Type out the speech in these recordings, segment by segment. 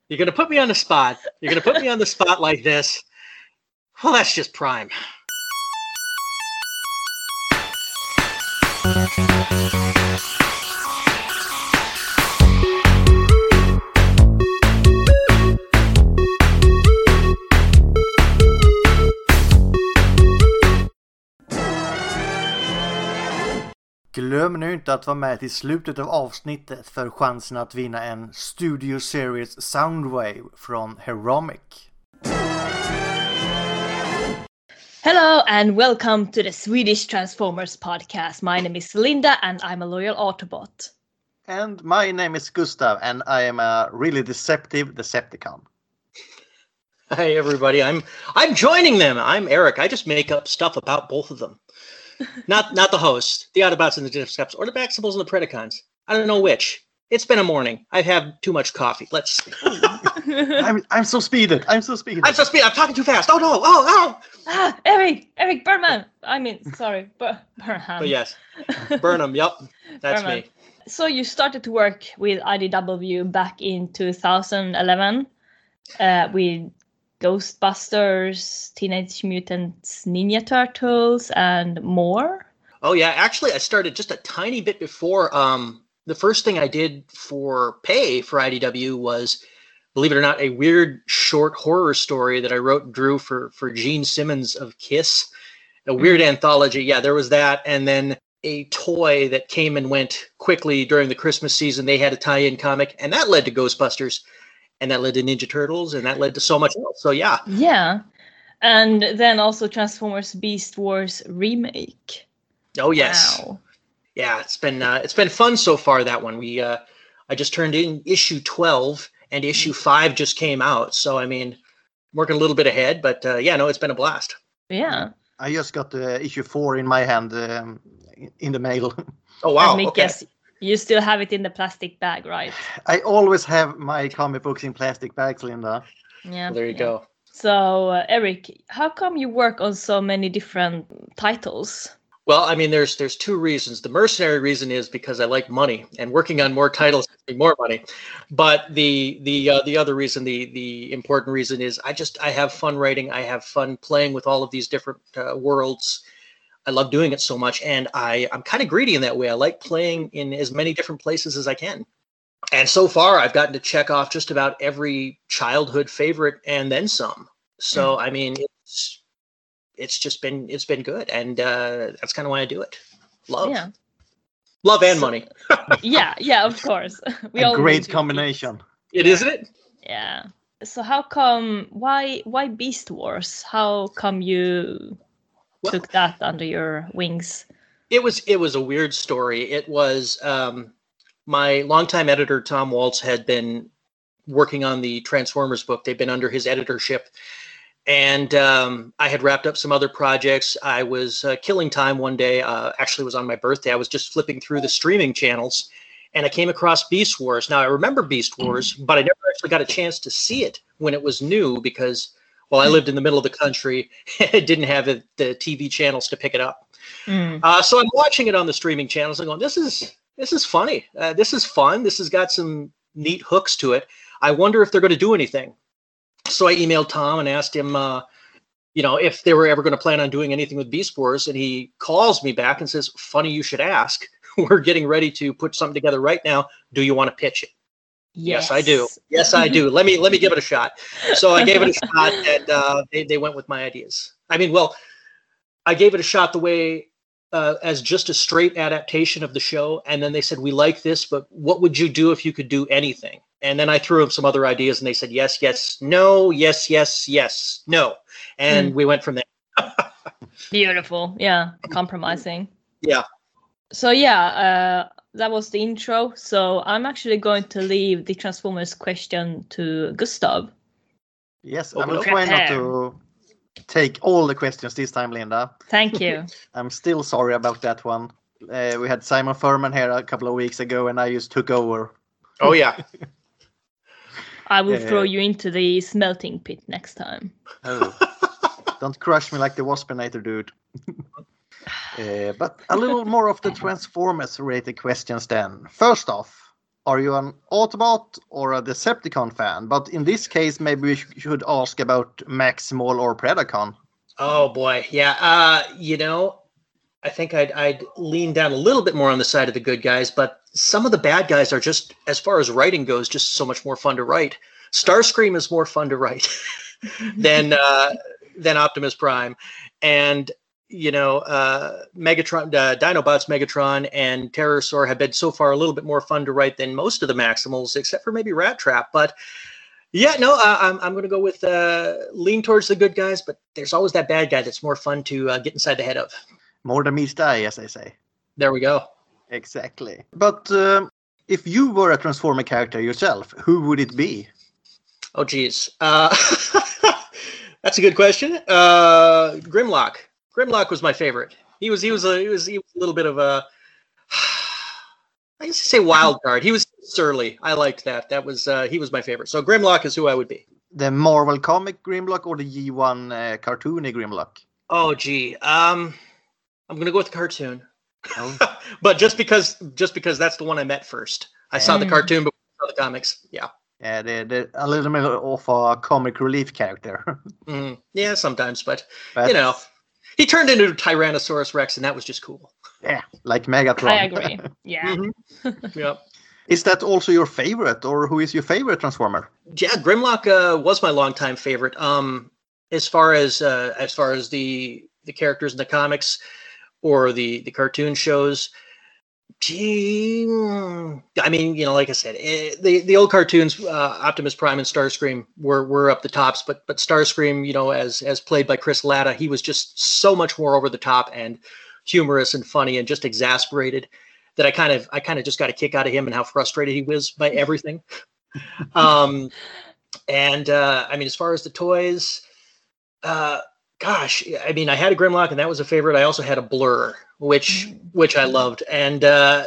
You're going to put me on the spot. You're going to put me on the spot like this. Well, that's just prime. Glöm nu inte att vara med till slutet av avsnittet för chansen att vinna en Studio Series Soundwave från Heromic. Hello and welcome to the Swedish Transformers podcast. My name is Linda and I'm a loyal Autobot. And my name is Gustav and I am a really deceptive Decepticon. Hi everybody, I'm joining them. I'm Eric. I just make up stuff about both of them. Not the host, the Autobots and the Decepticons, or the Baxables and the Predacons. I don't know which. It's been a morning. I've had too much coffee. Let's see. I'm so speeded. I'm talking too fast. Oh no. Oh. Eric Burnham. Sorry, Burnham. But yes, Burnham. Yep, that's Burnham. me. So you started to work with IDW back in 2011 with Ghostbusters, Teenage Mutant Ninja Turtles, and more? Oh, yeah. Actually, I started just a tiny bit before. The first thing I did for pay for IDW was, believe it or not, a weird short horror story that I wrote and drew for Gene Simmons of Kiss. A weird anthology. Yeah, there was that. And then a toy that came and went quickly during the Christmas season. They had a tie-in comic, and that led to Ghostbusters. And that led to Ninja Turtles, and that led to so much else. So, yeah. Yeah. And then also Transformers Beast Wars remake. Oh, yes. Wow. Yeah, it's been fun so far, that one. I just turned in issue 12, and issue 5 just came out. So, working a little bit ahead, but it's been a blast. Yeah. I just got issue 4 in my hand in the mail. Oh, wow. And okay. You still have it in the plastic bag, right? I always have my comic books in plastic bags, Linda. Yeah. Well, there you go. So, Eric, how come you work on so many different titles? Well, there's two reasons. The mercenary reason is because I like money, and working on more titles gives me more money. But the other reason, the important reason is I have fun writing. I have fun playing with all of these different worlds. I love doing it so much, and I'm kind of greedy in that way. I like playing in as many different places as I can. And so far, I've gotten to check off just about every childhood favorite and then some. So, it's been good, and that's kind of why I do it. Love and money. yeah, of course. A great combination. Isn't it? Yeah. So why Beast Wars? How come you took that under your wings? It was a weird story. It was my longtime editor Tom Waltz had been working on the Transformers book. They've been under his editorship, and I had wrapped up some other projects. I was killing time one day. Actually, it was on my birthday. I was just flipping through the streaming channels, and I came across Beast Wars. Now I remember Beast Wars, but I never actually got a chance to see it when it was new because, well, I lived in the middle of the country. It didn't have the TV channels to pick it up. So I'm watching it on the streaming channels and going, this is funny. This is fun. This has got some neat hooks to it. I wonder if they're going to do anything. So I emailed Tom and asked him, if they were ever going to plan on doing anything with Beast Wars. And he calls me back and says, funny you should ask. We're getting ready to put something together right now. Do you want to pitch it? Yes, I do. Yes, I do. Let me give it a shot. So I gave it a shot, and they went with my ideas. I gave it a shot the way as just a straight adaptation of the show, and then they said, we like this, but what would you do if you could do anything? And then I threw them some other ideas, and they said, yes, yes, no, yes, yes, yes, no. And we went from there. Beautiful. Yeah, compromising. Yeah. So, that was the intro. So I'm actually going to leave the Transformers question to Gustav. Yes, I will try not to take all the questions this time, Linda. Thank you. I'm still sorry about that one. We had Simon Furman here a couple of weeks ago, and I just took over. Oh, yeah. I will throw you into the smelting pit next time. Oh. Don't crush me like the Waspinator dude. But a little more of the Transformers-related questions then. First off, are you an Autobot or a Decepticon fan? But in this case, maybe we should ask about Maximal or Predacon. Oh boy, yeah. I think I'd lean down a little bit more on the side of the good guys, but some of the bad guys are just, as far as writing goes, just so much more fun to write. Starscream is more fun to write than Optimus Prime, and Megatron, Dinobots, Megatron, and Terrorsaur have been so far a little bit more fun to write than most of the Maximals, except for maybe Rat Trap. But yeah, no, I'm going to go with lean towards the good guys, but there's always that bad guy that's more fun to get inside the head of. More than meets the eye, as they say. There we go. Exactly. But if you were a Transformer character yourself, who would it be? Oh, geez. That's a good question. Grimlock. Grimlock was my favorite. He was a little bit of a, I used to say wild card. He was surly. I liked that. That was he was my favorite. So Grimlock is who I would be. The Marvel comic Grimlock or the G1 cartoony Grimlock? Oh, gee. I'm gonna go with the cartoon. Oh. But just because that's the one I met first. I saw the cartoon before I saw the comics. Yeah. Yeah, they're a little bit of a comic relief character. Yeah, sometimes, but he turned into Tyrannosaurus Rex, and that was just cool. Yeah, like Megatron. I agree. Yeah. Yeah. Is that also your favorite, or who is your favorite Transformer? Yeah, Grimlock was my longtime favorite. As far as the characters in the comics or the cartoon shows. Gee, I mean, like I said, the old cartoons, Optimus Prime and Starscream were up the tops, but Starscream, as played by Chris Latta, he was just so much more over the top and humorous and funny and just exasperated that I kind of just got a kick out of him and how frustrated he was by everything. I mean, as far as the toys, gosh, I mean, I had a Grimlock and that was a favorite. I also had a Blur, which I loved. And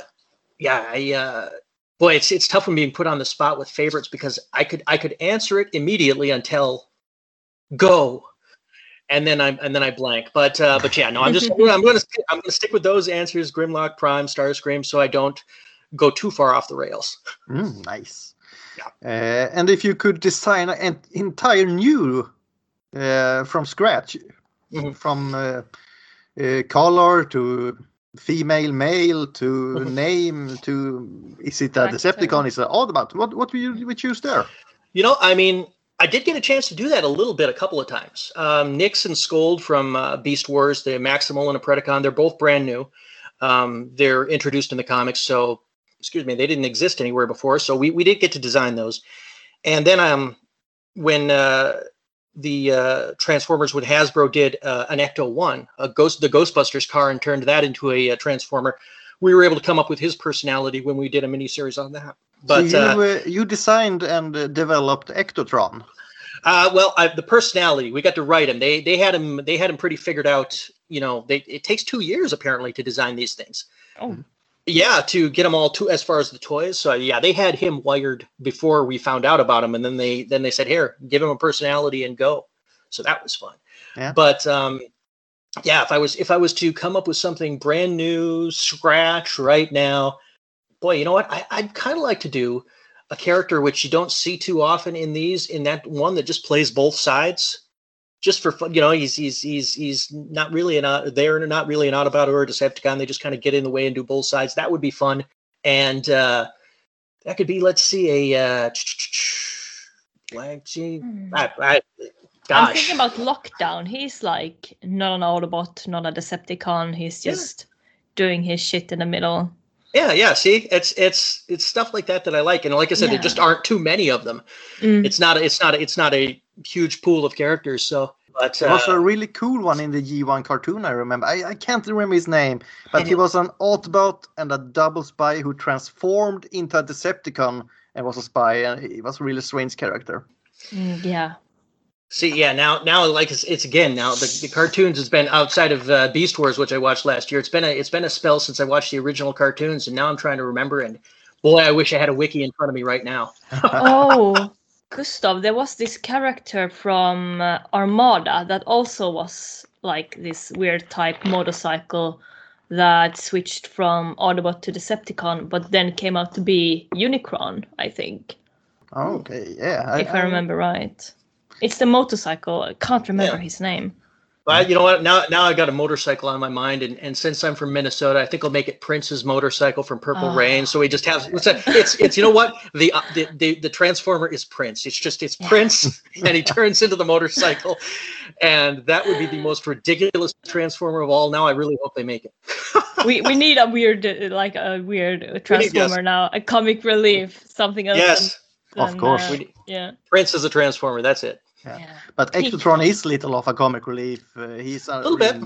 boy, it's tough when being put on the spot with favorites because I could answer it immediately until go, and then I blank. But yeah, no, I'm gonna stick with those answers: Grimlock, Prime, Starscream, so I don't go too far off the rails. Nice. Yeah. And if you could design an entire new from scratch, from color to female, male to name to, is it a Decepticon? Is it Autobot? What would you choose there? I mean, I did get a chance to do that a couple of times. Nyx and Scold from Beast Wars, the Maximal and a Predacon, they're both brand new. They're introduced in the comics, so they didn't exist anywhere before. So we did get to design those. And then when the Transformers with Hasbro did an Ecto-1, the Ghostbusters car, and turned that into a Transformer, we were able to come up with his personality when we did a miniseries on that. But so you designed and developed Ectotron. The personality, we got to write him. They had him pretty figured out. It takes 2 years apparently to design these things. Oh. Yeah, to get them all as far as the toys. So yeah, they had him wired before we found out about him, and then they said, "Here, give him a personality and go." So that was fun. Yeah. But yeah, if I was to come up with something brand new, scratch right now, boy, you know what? I'd kind of like to do a character which you don't see too often in that one that just plays both sides. Just for fun, he's not really not really an Autobot or a Decepticon. They just kind of get in the way and do both sides. That would be fun, and that could be, let's see, a blank. I'm thinking about Lockdown. He's like not an Autobot, not a Decepticon. He's just doing his shit in the middle. Yeah. See, it's stuff like that I like, and like I said, there just aren't too many of them. It's not a huge pool of characters. So, but there was a really cool one in the G1 cartoon. I remember. I can't remember his name, but he was an Autobot and a double spy who transformed into a Decepticon and was a spy, and he was a really strange character. Yeah. See, yeah, now, like it's again now the cartoons has been outside of Beast Wars, which I watched last year. It's been a spell since I watched the original cartoons, and now I'm trying to remember. And boy, I wish I had a wiki in front of me right now. Oh, Gustav, there was this character from Armada that also was like this weird type motorcycle that switched from Autobot to Decepticon, but then came out to be Unicron, I think. Okay, yeah. If I remember right. It's the motorcycle. I can't remember his name. Well, you know what? Now I got a motorcycle on my mind, and since I'm from Minnesota, I think I'll make it Prince's motorcycle from Purple Rain. So we just have it's you know what, the Transformer is Prince. It's Prince, and he turns into the motorcycle, and that would be the most ridiculous Transformer of all. Now I really hope they make it. we need a weird Transformer now, a comic relief, something else. Yes, of course. Prince is a Transformer. That's it. Yeah. But Ectotron is little of a comic relief. He's a little bit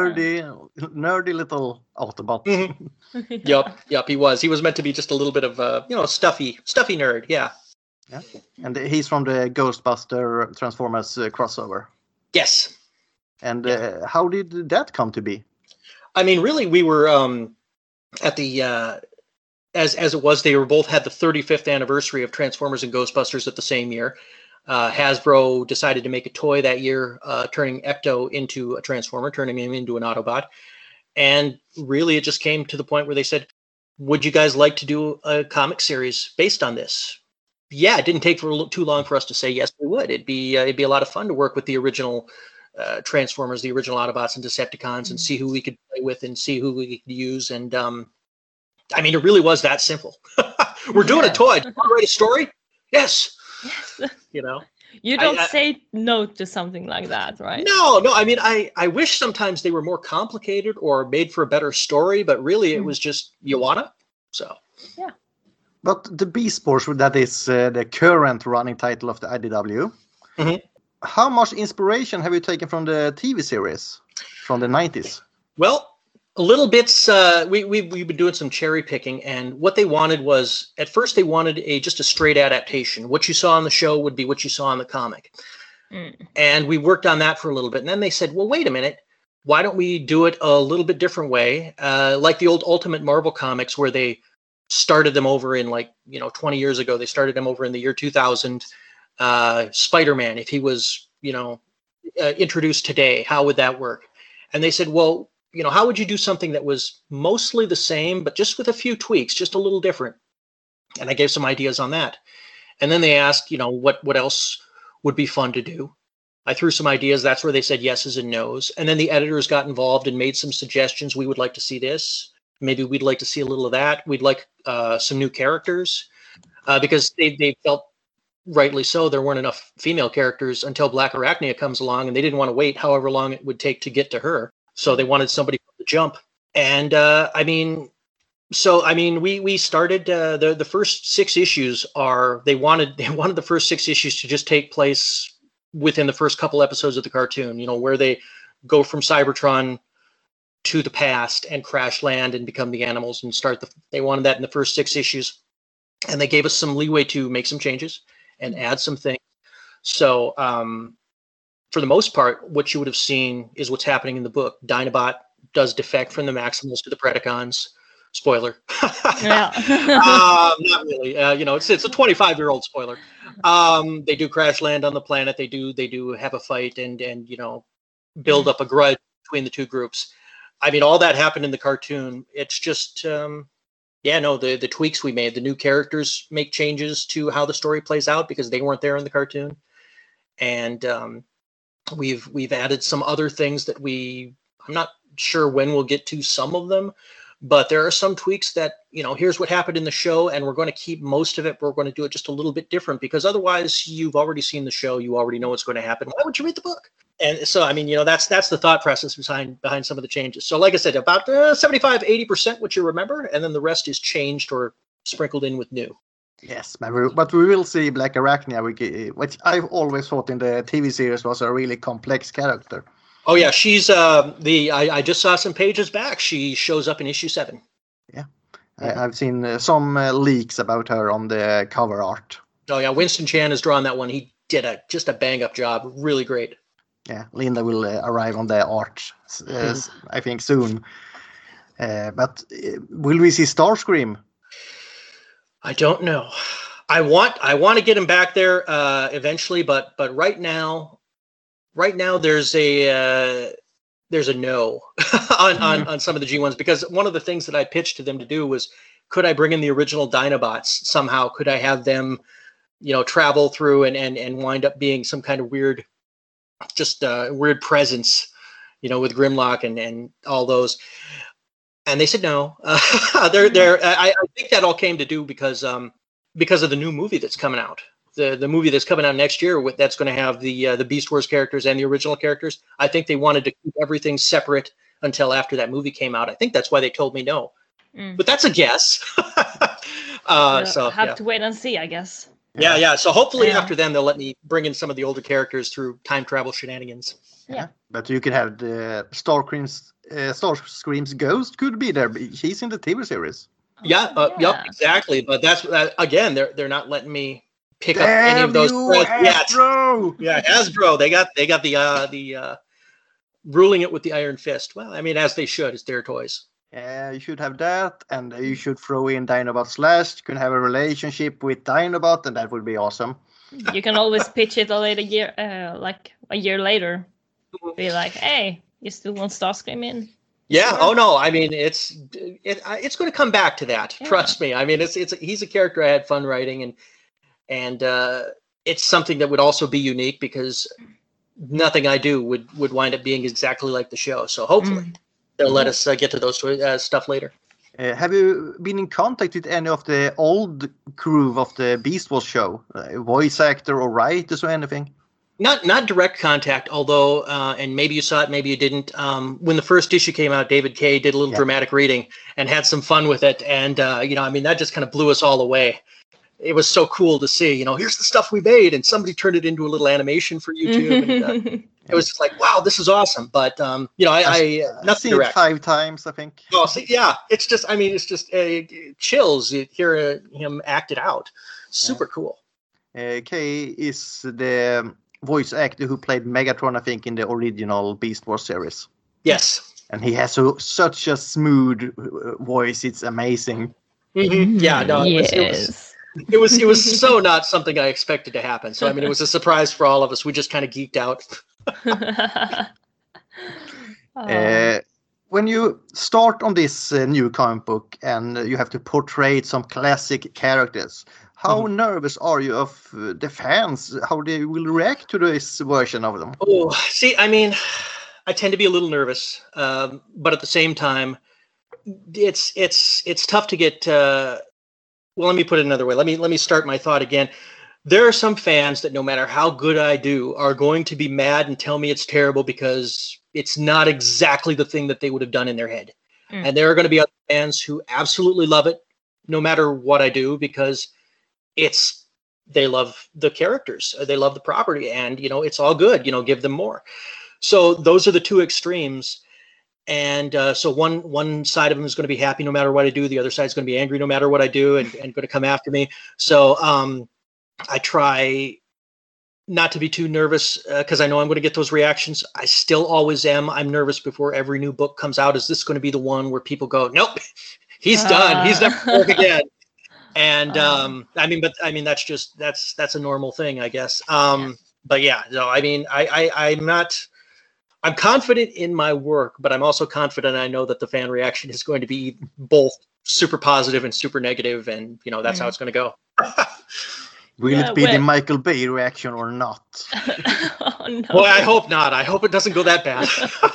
nerdy little Autobot. Mm-hmm. Yep. He was meant to be just a little bit of stuffy nerd. Yeah. And he's from the Ghostbuster Transformers crossover. Yes. And how did that come to be? I mean, really, we were at the as it was. They were both had the 35th anniversary of Transformers and Ghostbusters at the same year. Hasbro decided to make a toy that year, turning Ecto into a Transformer, turning him into an Autobot. And really, it just came to the point where they said, would you guys like to do a comic series based on this? Yeah, it didn't take too long for us to say, yes, we would. It'd be a lot of fun to work with the original Transformers, the original Autobots and Decepticons, and see who we could play with and see who we could use. And I mean, it really was that simple. We're doing a toy. Do you want to write a story? Yes. You know, you don't say no to something like that, right? No. I mean, I wish sometimes they were more complicated or made for a better story, but really it was just you wanna. So yeah. But the Beast Force, that is the current running title of the IDW. Mm-hmm. How much inspiration have you taken from the TV series from the 90s? Well, a little bits. We've been doing some cherry picking, and what they wanted was, at first they wanted just a straight adaptation. What you saw on the show would be what you saw in the comic. And we worked on that for a little bit. And then they said, well, wait a minute. Why don't we do it a little bit different way? Like the old Ultimate Marvel comics, where they started them over in 20 years ago. They started them over in the year 2000. Spider-Man, if he was, introduced today, how would that work? And they said, well, how would you do something that was mostly the same, but just with a few tweaks, just a little different? And I gave some ideas on that. And then they asked, what else would be fun to do? I threw some ideas. That's where they said yeses and nos. And then the editors got involved and made some suggestions. We would like to see this. Maybe we'd like to see a little of that. We'd like some new characters because they felt, rightly so, there weren't enough female characters until Black Arachnia comes along, and they didn't want to wait however long it would take to get to her. So they wanted somebody from the jump. And we started the first 6 issues they wanted the first 6 issues to just take place within the first couple episodes of the cartoon, where they go from Cybertron to the past and crash land and become the animals and they wanted that in the first 6 issues. And they gave us some leeway to make some changes and add some things. So, for the most part, what you would have seen is what's happening in the book. Dinobot does defect from the Maximals to the Predacons. Spoiler. Yeah. Not really. It's a 25-year-old spoiler. They do crash land on the planet. They do have a fight and build up a grudge between the two groups. I mean, all that happened in the cartoon. It's just, the tweaks we made. The new characters make changes to how the story plays out because they weren't there in the cartoon. And we've added some other things that I'm not sure when we'll get to some of them, but there are some tweaks that, here's what happened in the show, and we're going to keep most of it, but we're going to do it just a little bit different because otherwise you've already seen the show. You already know what's going to happen. Why would you read the book? And so, I mean, that's the thought process behind some of the changes. So like I said, about 75-80% what you remember, and then the rest is changed or sprinkled in with new. Yes, but we will see Black Arachnia, which I've always thought in the TV series was a really complex character. Oh yeah, she's I just saw some pages back. She shows up in issue 7. Yeah, I've seen some leaks about her on the cover art. Oh yeah, Winston Chan has drawn that one. He did just a bang up job. Really great. Yeah, Linda will arrive on the art, I think, soon. But will we see Starscream? I don't know. I want to get him back there eventually, but right now there's there's a no on some of the G1s, because one of the things that I pitched to them to do was, could I bring in the original Dinobots somehow? Could I have them, travel through and wind up being some kind of weird, just weird presence, with Grimlock and all those. And they said no. I think that all came to do because of the new movie that's coming out. The movie that's coming out next year, that's going to have the Beast Wars characters and the original characters. I think they wanted to keep everything separate until after that movie came out. I think that's why they told me no. But that's a guess. So have to wait and see, I guess. Yeah. So hopefully after then they'll let me bring in some of the older characters through time travel shenanigans. Yeah. But you could have the Starscream's ghost could be there. He's in the TV series. Yep, exactly. But that's again, they're not letting me pick up any of those Hasbro! Yeah, Hasbro. They got the ruling it with the iron fist. Well, I mean, as they should. It's their toys. Yeah, you should have that, and you should throw in Dinobot Slash. You can have a relationship with Dinobot, and that would be awesome. You can always pitch it a year later. Be like, hey, you still want Starscream in? Yeah. Sure. Oh no. I mean, it's going to come back to that. Yeah. Trust me. I mean, he's a character I had fun writing, and it's something that would also be unique because nothing I do would wind up being exactly like the show. So hopefully they'll let us get to those stuff later. Have you been in contact with any of the old crew of the Beast Wars show, voice actor or writers or anything? Not direct contact, although, and maybe you saw it, maybe you didn't. When the first issue came out, David Kay did a little dramatic reading and had some fun with it. And, I mean, that just kind of blew us all away. It was so cool to see, here's the stuff we made, and somebody turned it into a little animation for YouTube. And, it was just like, wow, this is awesome. But, I've seen it 5 times, I think. Oh, see, yeah, it's just chills. You hear him act it out. Super cool. Kay is the voice actor who played Megatron, I think, in the original Beast Wars series. Yes. And he has such a smooth voice. It's amazing. Mm-hmm. Yeah, no, yes. It was so not something I expected to happen. So, I mean, it was a surprise for all of us. We just kind of geeked out. When you start on this new comic book and you have to portray some classic characters, how nervous are you of the fans, how they will react to this version of them? Oh, see, I mean, I tend to be a little nervous, but at the same time, it's tough to get. Well, let me put it another way. Let me start my thought again. There are some fans that no matter how good I do are going to be mad and tell me it's terrible because it's not exactly the thing that they would have done in their head. And there are going to be other fans who absolutely love it no matter what I do because they love the characters, they love the property, and it's all good. Give them more. So those are the two extremes. And so one side of them is going to be happy no matter what I do. The other side is going to be angry no matter what I do and going to come after me. So I try not to be too nervous because I know I'm going to get those reactions. I still always am. I'm nervous before every new book comes out. Is this going to be the one where people go, nope, he's done. He's never going to work again. And that's a normal thing, I guess. But yeah, no, I mean, I'm confident in my work, but I'm also confident I know that the fan reaction is going to be both super positive and super negative, and that's how it's going to go. Will it be the Michael Bay reaction or not? Oh, no. Well, I hope not. I hope it doesn't go that bad.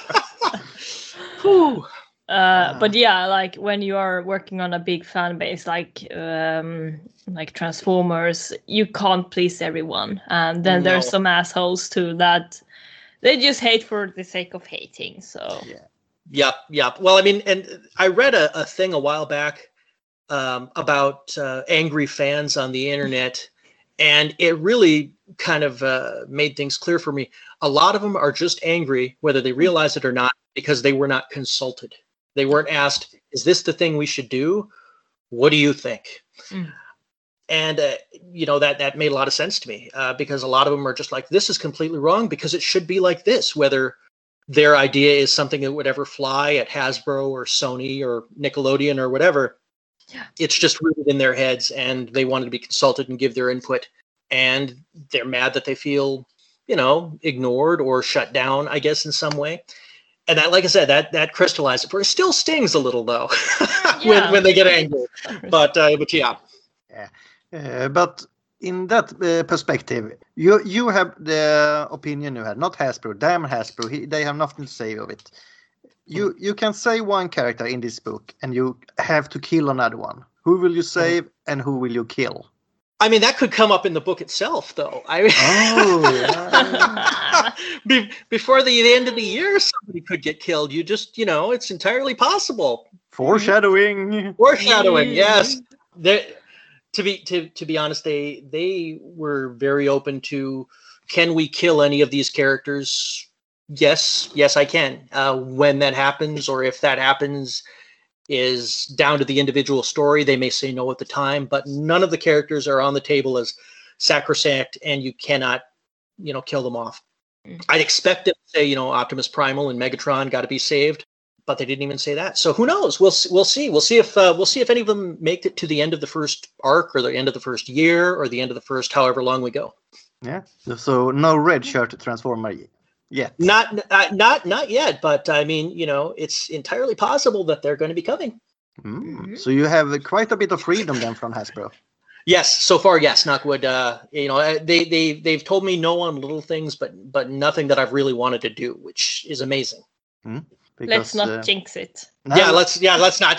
Whew. But yeah, like when you are working on a big fan base like Transformers, you can't please everyone, and then there's some assholes too that they just hate for the sake of hating. So Yep. Well, I mean, and I read a thing a while back about angry fans on the internet, and it really kind of made things clear for me. A lot of them are just angry, whether they realize it or not, because they were not consulted. They weren't asked, is this the thing we should do? What do you think? And, that made a lot of sense to me because a lot of them are just like, this is completely wrong because it should be like this, whether their idea is something that would ever fly at Hasbro or Sony or Nickelodeon or whatever. Yeah. It's just rooted in their heads and they wanted to be consulted and give their input. And they're mad that they feel, ignored or shut down, I guess, in some way. And that, like I said, that crystallized it for. It still stings a little though when they get angry. But yeah. But in that perspective, you have the opinion you had, not Hasbro. Damn Hasbro, they have nothing to say of it. You can say one character in this book, and you have to kill another one. Who will you save, and who will you kill? I mean, that could come up in the book itself, though. Before the end of the year, somebody could get killed. You just, it's entirely possible. Foreshadowing. Yes. To be honest, they were very open to, can we kill any of these characters? Yes, I can. When that happens, or if that happens, is down to the individual story. They may say no at the time, but none of the characters are on the table as sacrosanct, and you cannot, kill them off. I'd expect them to say, Optimus Primal and Megatron got to be saved, but they didn't even say that. So who knows? We'll see. We'll see if any of them make it to the end of the first arc, or the end of the first year, or the end of the first however long we go. Yeah. So no red shirt Transformer yet. Not yet, but I mean, it's entirely possible that they're going to be coming. So you have quite a bit of freedom then from Hasbro. Yes, so far, yes. Knockwood. They've told me no on little things, but nothing that I've really wanted to do, which is amazing. Because, let's not jinx it. No. Let's not.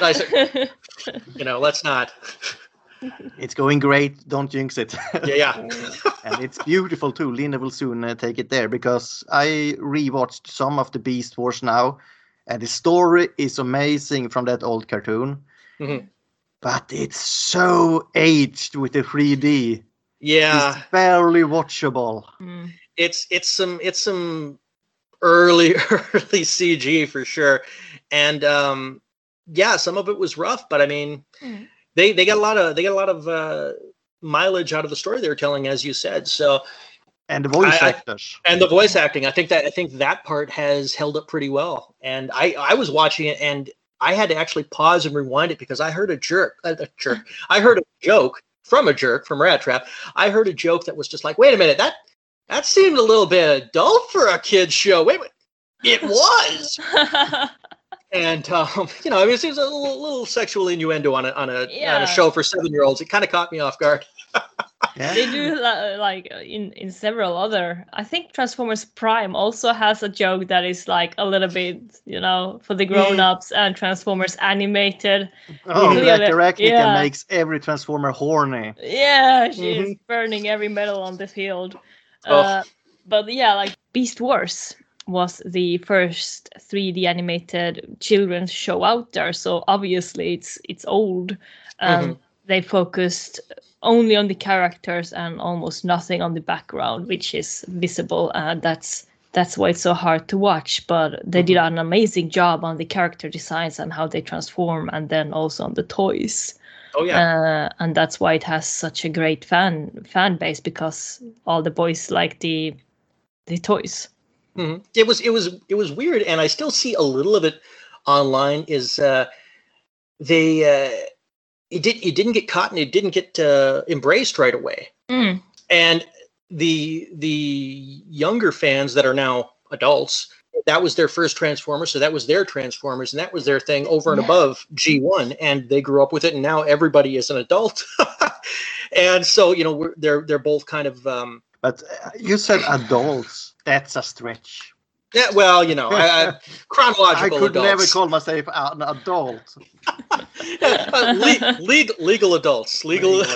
Let's not. It's going great. Don't jinx it. Yeah. And it's beautiful too. Linda will soon take it there, because I rewatched some of the Beast Wars now, and the story is amazing from that old cartoon. Mm-hmm. But it's so aged with the 3D. Yeah, it's barely watchable. It's some early CG for sure, and some of it was rough. But I mean. They got a lot of mileage out of the story they were telling, as you said. So, and the voice actors and the voice acting. I think that part has held up pretty well. And I was watching it, and I had to actually pause and rewind it, because I heard a joke. I heard a joke from Rat Trap. I heard a joke that was just like, wait a minute, that seemed a little bit adult for a kid's show. Wait, it was. And it seems a little sexual innuendo on a show for 7-year-olds. It kind of caught me off guard. They do like in several other. I think Transformers Prime also has a joke that is like a little bit, for the grown-ups, and Transformers Animated. Director Arachnica makes every Transformer horny. Yeah, she's burning every metal on the field. But like Beast Wars was the first 3D animated children's show out there, so obviously it's old. They focused only on the characters and almost nothing on the background, which is visible, and that's why it's so hard to watch. But they did an amazing job on the character designs and how they transform, and then also on the toys. Oh yeah. And that's why it has such a great fan base, because all the boys like the toys. Mm-hmm. It was weird, and I still see a little of it online. Is it didn't get caught, and it didn't get embraced right away. And the younger fans that are now adults, that was their first Transformers, so that was their Transformers, and that was their thing over and above G1, and they grew up with it, and now everybody is an adult. And so they're both kind of. But you said adults. That's a stretch. Yeah, well, chronological. I could adults. never call myself an adult. Legal adults,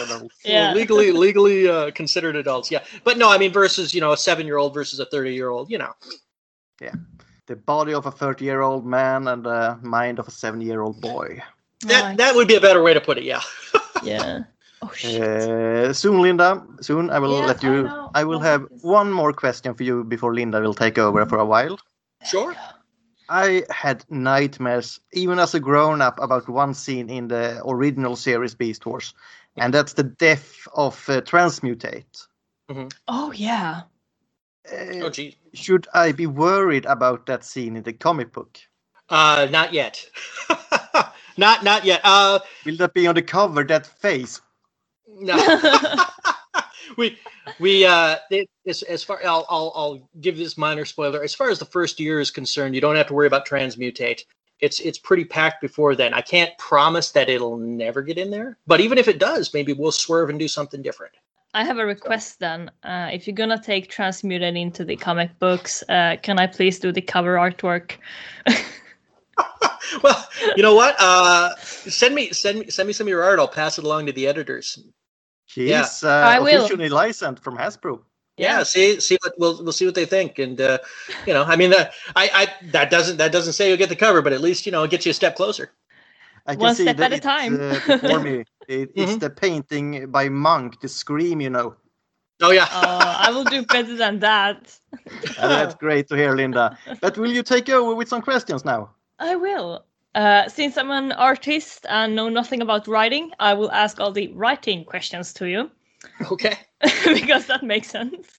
legally considered adults. Yeah, but no, I mean versus a 7-year-old versus a 30-year-old. Yeah, the body of a 30-year-old man and the mind of a 7-year-old boy. That would be a better way to put it. Yeah. Yeah. Oh, shit. Soon, Linda. Soon, I will let you. I will have one more question for you before Linda will take over for a while. Sure. I had nightmares, even as a grown-up, about one scene in the original series Beast Wars, and that's the death of Transmutate. Oh yeah. Oh geez. Should I be worried about that scene in the comic book? Not yet. Not yet. Will that be on the cover? That face. No. as far I'll give this minor spoiler. As far as the first year is concerned, you don't have to worry about transmutate. It's pretty packed before then. I can't promise that it'll never get in there, but even if it does, maybe we'll swerve and do something different. I have a request then. If you're gonna take Transmuted into the comic books, can I please do the cover artwork? Well, you know what? Send me some of your art. I'll pass it along to the editors. He's officially licensed from Hasbro. Yeah, see what we'll see what they think, and I mean that doesn't say you'll get the cover, but at least it gets you a step closer. I can One see step that at a time. Before me. It's the painting by Monk, the Scream, Oh yeah. I will do better than that. That's great to hear, Linda. But will you take over with some questions now? I will. Since I'm an artist and know nothing about writing, I will ask all the writing questions to you. Okay. Because that makes sense.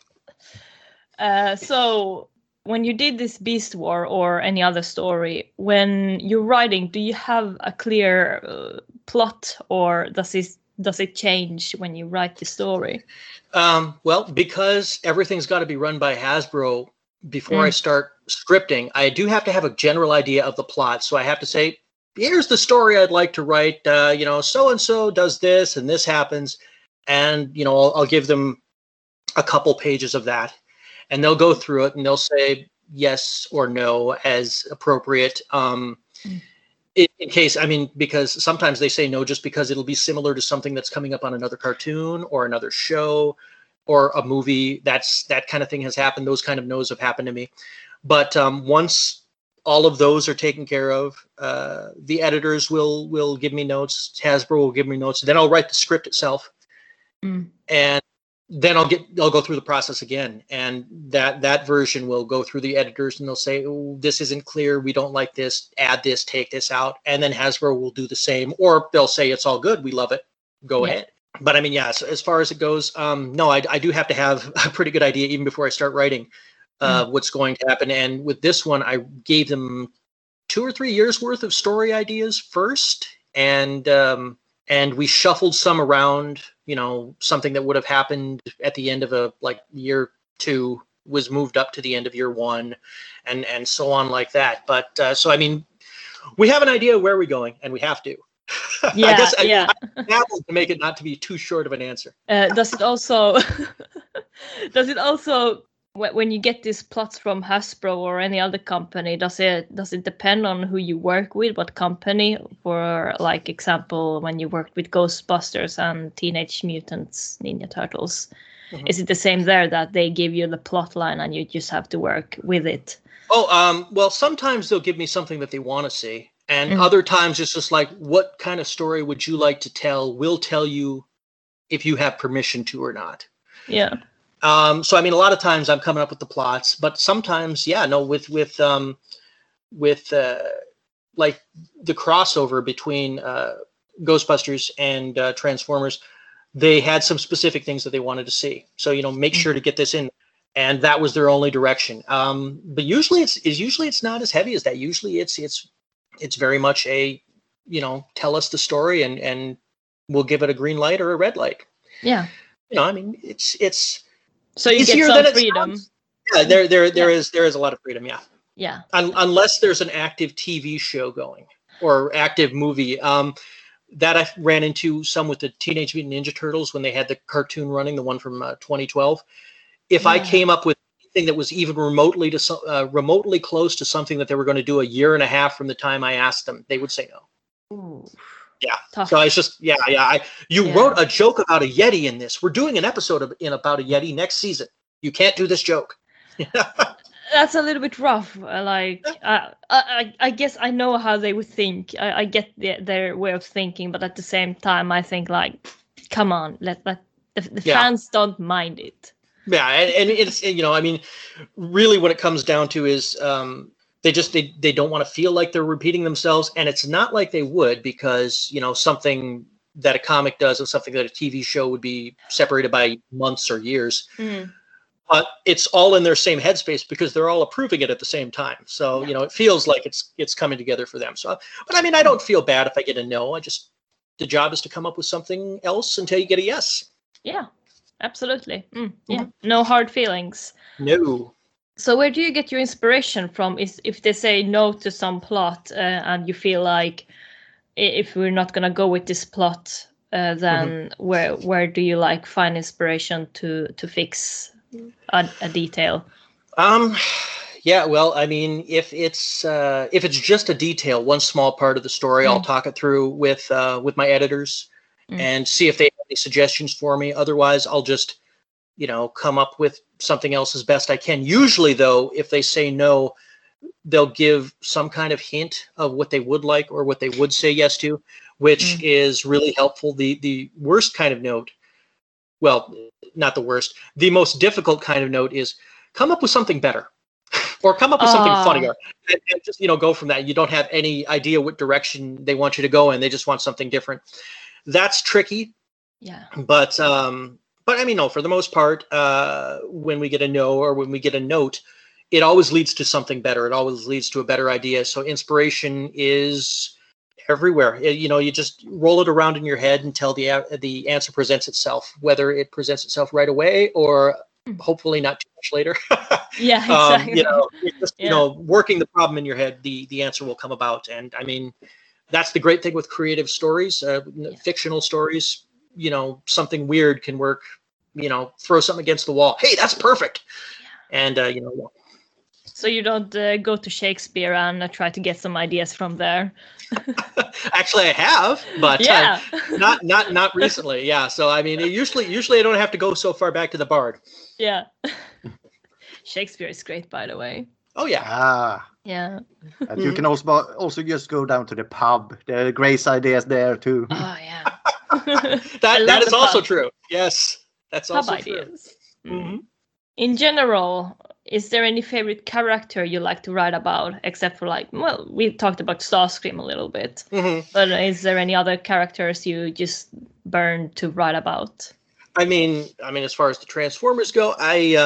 So, when you did this Beast War or any other story, when you're writing, do you have a clear plot, or does it change when you write the story? Well, because everything's got to be run by Hasbro before I start scripting, I do have to have a general idea of the plot. So I have to say, here's the story I'd like to write. So and so does this, and this happens. And, I'll give them a couple pages of that, and they'll go through it and they'll say yes or no as appropriate. In case, because sometimes they say no just because it'll be similar to something that's coming up on another cartoon or another show or a movie. That kind of thing has happened. Those kind of no's have happened to me. But once all of those are taken care of, the editors will give me notes. Hasbro will give me notes. Then I'll write the script itself. And then I'll go through the process again, and that version will go through the editors, and they'll say, "Oh, this isn't clear. We don't like this. Add this. Take this out." And then Hasbro will do the same, or they'll say, "It's all good. We love it. Go ahead." But so as far as it goes, no, I do have to have a pretty good idea even before I start writing what's going to happen. And with this one, I gave them 2 or 3 years worth of story ideas first, and we shuffled some around. Something that would have happened at the end of year 2 was moved up to the end of year 1, and so on like that. But we have an idea of where we're going, and we have to. Yeah, I guess yeah. I to make it not to be too short of an answer. Does it also when you get these plots from Hasbro or any other company, does it depend on who you work with, what company? For example, when you worked with Ghostbusters and Teenage Mutant Ninja Turtles, is it the same there, that they give you the plot line and you just have to work with it? Well, sometimes they'll give me something that they want to see, and other times it's just like, what kind of story would you like to tell? We'll tell you if you have permission to or not. Yeah. So a lot of times I'm coming up with the plots, but sometimes, with the crossover between Ghostbusters and Transformers, they had some specific things that they wanted to see. So make sure to get this in, and that was their only direction. But usually it's not as heavy as that. Usually it's very much a tell us the story, and we'll give it a green light or a red light. Yeah. It's. So you get some freedom. Yeah, there is a lot of freedom. Yeah. Yeah. Unless there's an active TV show going or active movie. That I ran into some with the Teenage Mutant Ninja Turtles when they had the cartoon running, the one from 2012. If I came up with anything that was even remotely close to something that they were going to do a year and a half from the time I asked them, they would say no. Ooh. Yeah. Tough. So it's just, you wrote a joke about a Yeti in this. We're doing an episode about a Yeti next season. You can't do this joke. That's a little bit rough. I guess I know how they would think. I get their way of thinking, but at the same time, I think come on, let the fans don't mind it. Yeah, and it's really what it comes down to is they don't want to feel like they're repeating themselves, and it's not like they would, because something that a comic does and something that a TV show would be separated by months or years. But it's all in their same headspace because they're all approving it at the same time. So it feels like it's coming together for them. So, but I don't feel bad if I get a no. The job is to come up with something else until you get a yes. Yeah. absolutely. Yeah, no hard feelings. No. So where do you get your inspiration from? Is if they say no to some plot and you feel like if we're not gonna go with this plot, then where do you like find inspiration to fix a detail? Yeah, well, I mean, if it's just a detail, one small part of the story, I'll talk it through with my editors and see if they have any suggestions for me. Otherwise, I'll just, come up with something else as best I can. Usually, though, if they say no, they'll give some kind of hint of what they would like or what they would say yes to, which is really helpful. The worst kind of note, well, not the worst, the most difficult kind of note is come up with something better. Or come up with something funnier and just, go from that. You don't have any idea what direction they want you to go in. They just want something different. That's tricky. Yeah. But I mean, no, for the most part, when we get a no or when we get a note, it always leads to something better. It always leads to a better idea. So inspiration is everywhere. You just roll it around in your head until the answer presents itself, whether it presents itself right away or hopefully not too much later. Yeah, exactly. Just, working the problem in your head, the answer will come about. And I mean, that's the great thing with creative stories, fictional stories. Something weird can work. Throw something against the wall. Hey, that's perfect. And So you don't go to Shakespeare and try to get some ideas from there. Actually, I have, but not recently. Yeah. So I mean, usually I don't have to go so far back to the Bard. Yeah. Shakespeare is great, by the way. Oh yeah. Yeah. And you can also just go down to the pub. There are great ideas there too. Oh yeah. that is also true. Yes, that's pub also ideas. true. Mm-hmm. In general, is there any favorite character you like to write about, except for we talked about Starscream a little bit, but is there any other characters you just burn to write about? I mean, as far as the Transformers go,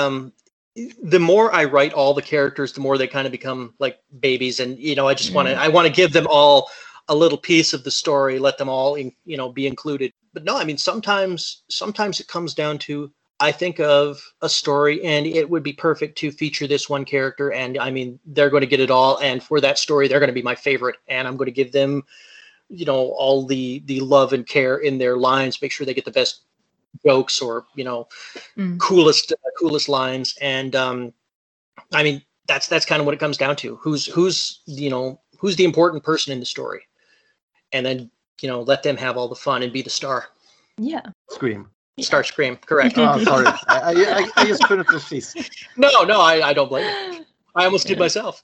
the more I write all the characters, the more they kind of become like babies, and I just want to give them all a little piece of the story, let them all be included. But no, I mean sometimes it comes down to I think of a story and it would be perfect to feature this one character, and I mean they're going to get it all, and for that story they're going to be my favorite, and I'm going to give them all the love and care in their lines, make sure they get the best jokes or coolest lines, and I mean that's kind of what it comes down to. Who's the important person in the story, and then let them have all the fun and be the star. Yeah. Scream. Starscream, correct. Oh, sorry. I just couldn't resist. No, I don't blame you. I almost did myself.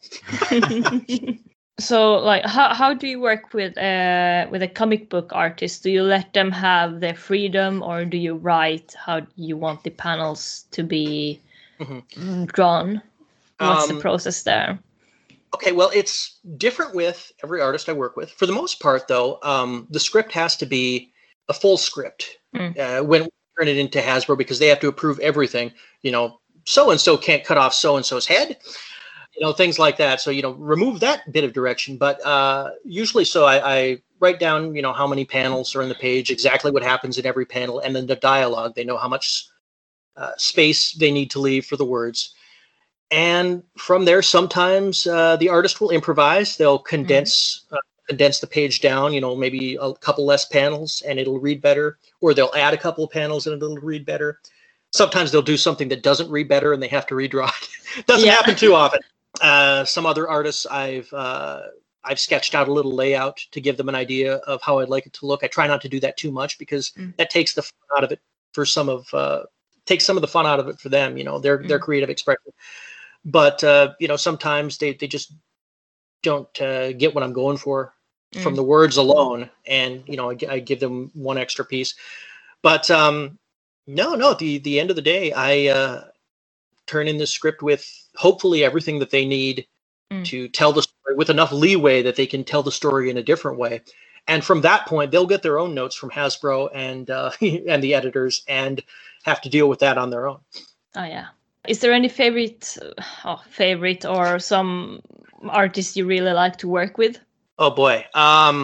So, how do you work with a comic book artist? Do you let them have their freedom, or do you write how you want the panels to be drawn? What's the process there? Okay, well, it's different with every artist I work with. For the most part, though, the script has to be a full script when we turn it into Hasbro, because they have to approve everything. So-and-so can't cut off so-and-so's head. Things like that. So, remove that bit of direction. But usually, so I write down, how many panels are in the page, exactly what happens in every panel, and then the dialogue. They know how much space they need to leave for the words. And from there, sometimes the artist will improvise. They'll condense the page down, maybe a couple less panels and it'll read better, or they'll add a couple of panels and it'll read better. Sometimes they'll do something that doesn't read better and they have to redraw it. Doesn't happen too often. Some other artists I've sketched out a little layout to give them an idea of how I'd like it to look. I try not to do that too much because that takes the fun out of it for takes some of the fun out of it for them, their creative expression. But sometimes they just don't get what I'm going for from the words alone, and I give them one extra piece. But no, at the end of the day, I turn in the script with hopefully everything that they need to tell the story, with enough leeway that they can tell the story in a different way. And from that point, they'll get their own notes from Hasbro and and the editors, and have to deal with that on their own. Oh yeah. Is there any favorite or some artists you really like to work with? Oh boy,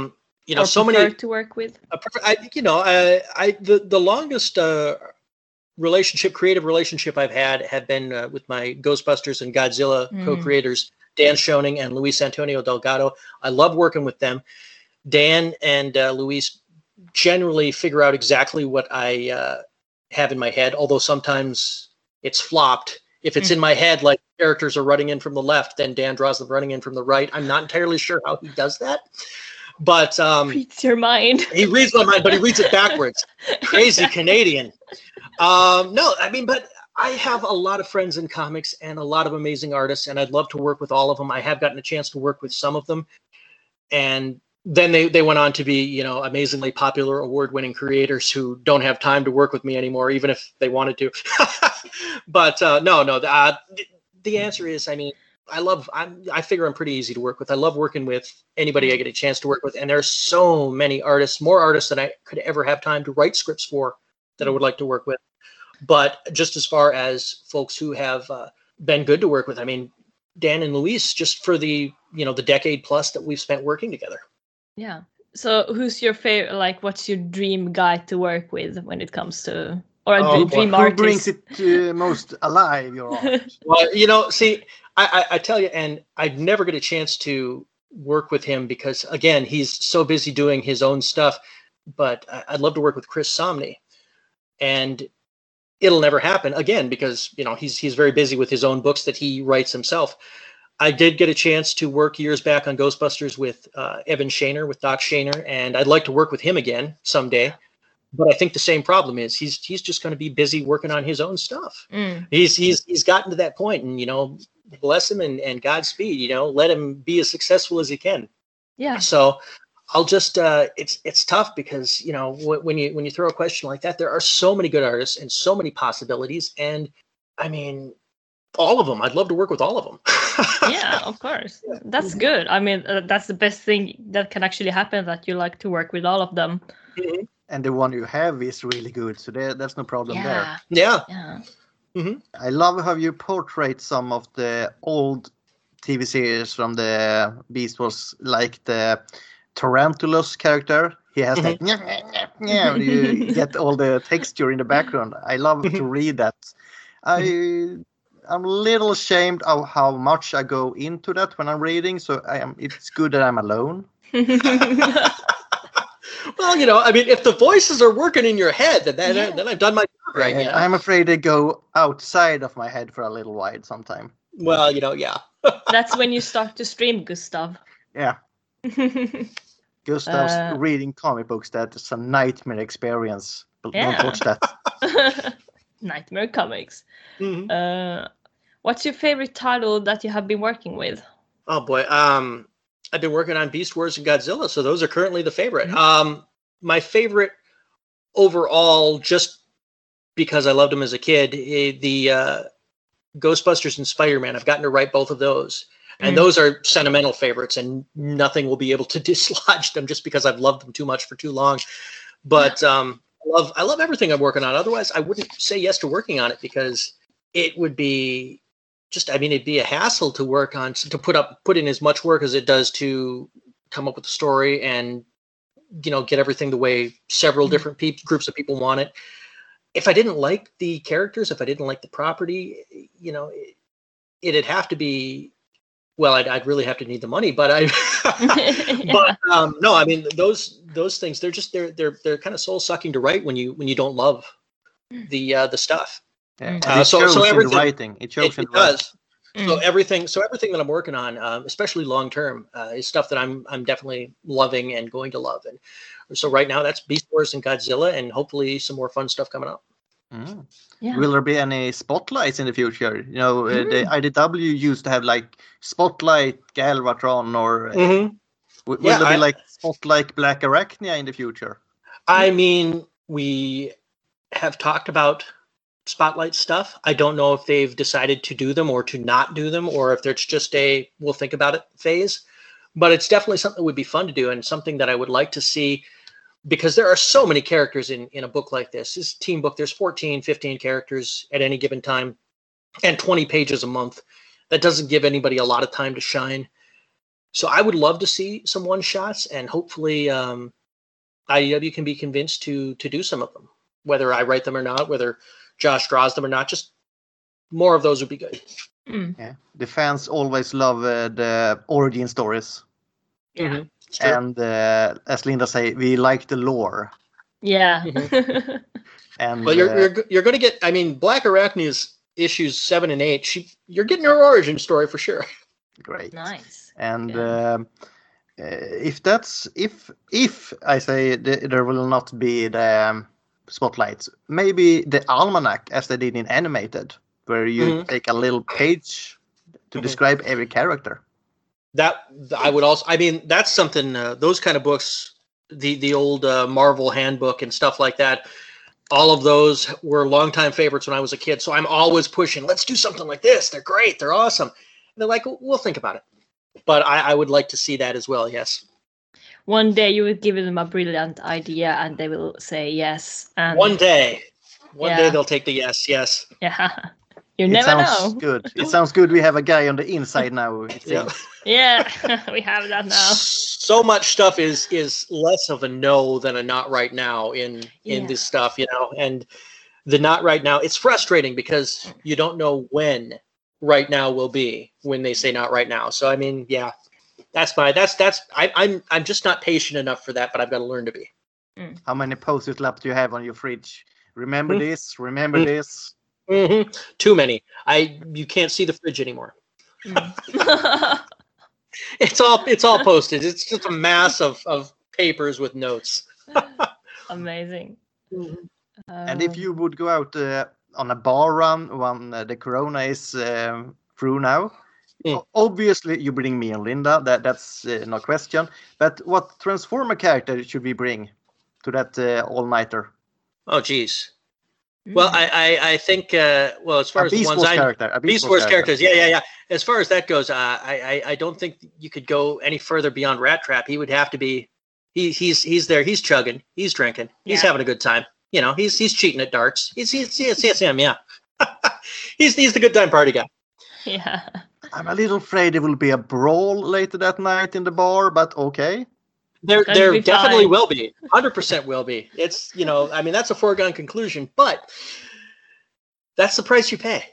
or so many to work with. the longest creative relationship I've had have been with my Ghostbusters and Godzilla co-creators, Dan Schoening and Luis Antonio Delgado. I love working with them. Dan and Luis generally figure out exactly what I have in my head, although sometimes it's flopped. If it's in my head, like characters are running in from the left, then Dan draws them running in from the right. I'm not entirely sure how he does that. But reads your mind. He reads my mind, but he reads it backwards. Crazy Canadian. No, I mean, but I have a lot of friends in comics and a lot of amazing artists, and I'd love to work with all of them. I have gotten a chance to work with some of them, and then they went on to be, you know, amazingly popular, award-winning creators who don't have time to work with me anymore, even if they wanted to. But the answer is, I mean, I figure I'm pretty easy to work with. I love working with anybody I get a chance to work with, and there's so many artists, more artists than I could ever have time to write scripts for, that I would like to work with. But just as far as folks who have been good to work with, I mean, Dan and Luis, just for the decade plus that we've spent working together. Yeah. So who's your favorite, like, what's your dream guy to work with when it comes to, or a dream artist? Who brings it most alive, your art? Well, you know, see, I tell you, and I'd never get a chance to work with him because, again, he's so busy doing his own stuff. But I'd love to work with Chris Samnee, and it'll never happen again because, you know, he's very busy with his own books that he writes himself. I did get a chance to work years back on Ghostbusters with Evan Shaner, with Doc Shaner, and I'd like to work with him again someday. But I think the same problem is he's just going to be busy working on his own stuff. He's gotten to that point, and, you know, bless him and Godspeed. You know, let him be as successful as he can. Yeah. So I'll just it's tough because, you know, when you throw a question like that, there are so many good artists and so many possibilities, and I mean, all of them. I'd love to work with all of them. Yeah, of course. That's good. I mean, that's the best thing that can actually happen, that you like to work with all of them. Mm-hmm. And the one you have is really good, so there's no problem there. Yeah. Mm-hmm. I love how you portray some of the old TV series from the Beast Wars, like the Tarantulas character. He has that you get all the texture in the background. I love to read that. I'm a little ashamed of how much I go into that when I'm reading, so it's good that I'm alone. Well, you know, I mean, if the voices are working in your head, then I've done my job right. Yeah, I'm afraid they go outside of my head for a little while sometime. Well, you know, yeah. That's when you start to stream, Gustav. Yeah. Gustav's reading comic books. That's a nightmare experience. But don't watch that. Nightmare comics. What's your favorite title that you have been working with? Oh boy, I've been working on Beast Wars and Godzilla, so those are currently the favorite. My favorite overall, just because I loved them as a kid, the Ghostbusters and Spider-Man. I've gotten to write both of those, and those are sentimental favorites, and nothing will be able to dislodge them just because I've loved them too much for too long. But I love everything I'm working on. Otherwise, I wouldn't say yes to working on it, because it would be it'd be a hassle to work on, to put in as much work as it does to come up with a story and, you know, get everything the way several different groups of people want it. If I didn't like the characters, if I didn't like the property, you know, it'd have to be, well, I'd really have to need the money, but no, I mean, those things, they're kind of soul sucking to write when you don't love the stuff. Yeah. So everything, writing. It shows in does. So everything that I'm working on, especially long term, is stuff that I'm definitely loving and going to love. And so right now, that's Beast Wars and Godzilla, and hopefully some more fun stuff coming up. Yeah. Will there be any spotlights in the future? You know, the IDW used to have like Spotlight Galvatron, or will there be like Spotlight Black Arachnia in the future? I mean, we have talked about Spotlight stuff. I don't know if they've decided to do them or to not do them, or if there's just a we'll think about it phase. But it's definitely something that would be fun to do, and something that I would like to see, because there are so many characters in a book like this. This team book, there's 14, 15 characters at any given time, and 20 pages a month. That doesn't give anybody a lot of time to shine. So I would love to see some one-shots, and hopefully IDW can be convinced to do some of them, whether I write them or not, whether Josh draws them or not. Just more of those would be good. Yeah, the fans always love the origin stories. Yeah. And as Linda say, we like the lore. Yeah. And well, you're going to get. I mean, Black Arachne's issues 7 and 8. You're getting her origin story for sure. Great. Nice. And if I say there will not be the spotlights, maybe the almanac as they did in animated, where you take a little page to describe every character. That I would also. I mean, that's something. Those kind of books, the old Marvel handbook and stuff like that. All of those were longtime favorites when I was a kid. So I'm always pushing. Let's do something like this. They're great. They're awesome. And they're like, we'll think about it. But I would like to see that as well. Yes. One day you would give them a brilliant idea, and they will say yes. And one day they'll take the yes. Yes. Yeah. You never know. Good. It sounds good. We have a guy on the inside now. It seems. Yeah, we have that now. So much stuff is less of a no than a not right now in this stuff, and the not right now. It's frustrating because you don't know when right now will be when they say not right now. So I mean, yeah, that's I'm just not patient enough for that, but I've got to learn to be. How many post-it laps do you have on your fridge? Remember this. Remember this. Mm-hmm. Too many. You can't see the fridge anymore. It's all posted. It's just a mass of papers with notes. Amazing. And if you would go out on a bar run when the corona is through now, obviously you bring me and Linda. That's no question. But what Transformer character should we bring to that all-nighter? Oh, geez. Well, I think as far as the ones Beast Wars characters, yeah. As far as that goes, I don't think you could go any further beyond Rat Trap. He would have to be. He's there. He's chugging. He's drinking. He's having a good time. He's cheating at darts. He's him. Yeah. he's the good time party guy. Yeah. I'm a little afraid there will be a brawl later that night in the bar, but okay. There definitely will be. 100% will be. It's, I mean, that's a foregone conclusion, but that's the price you pay.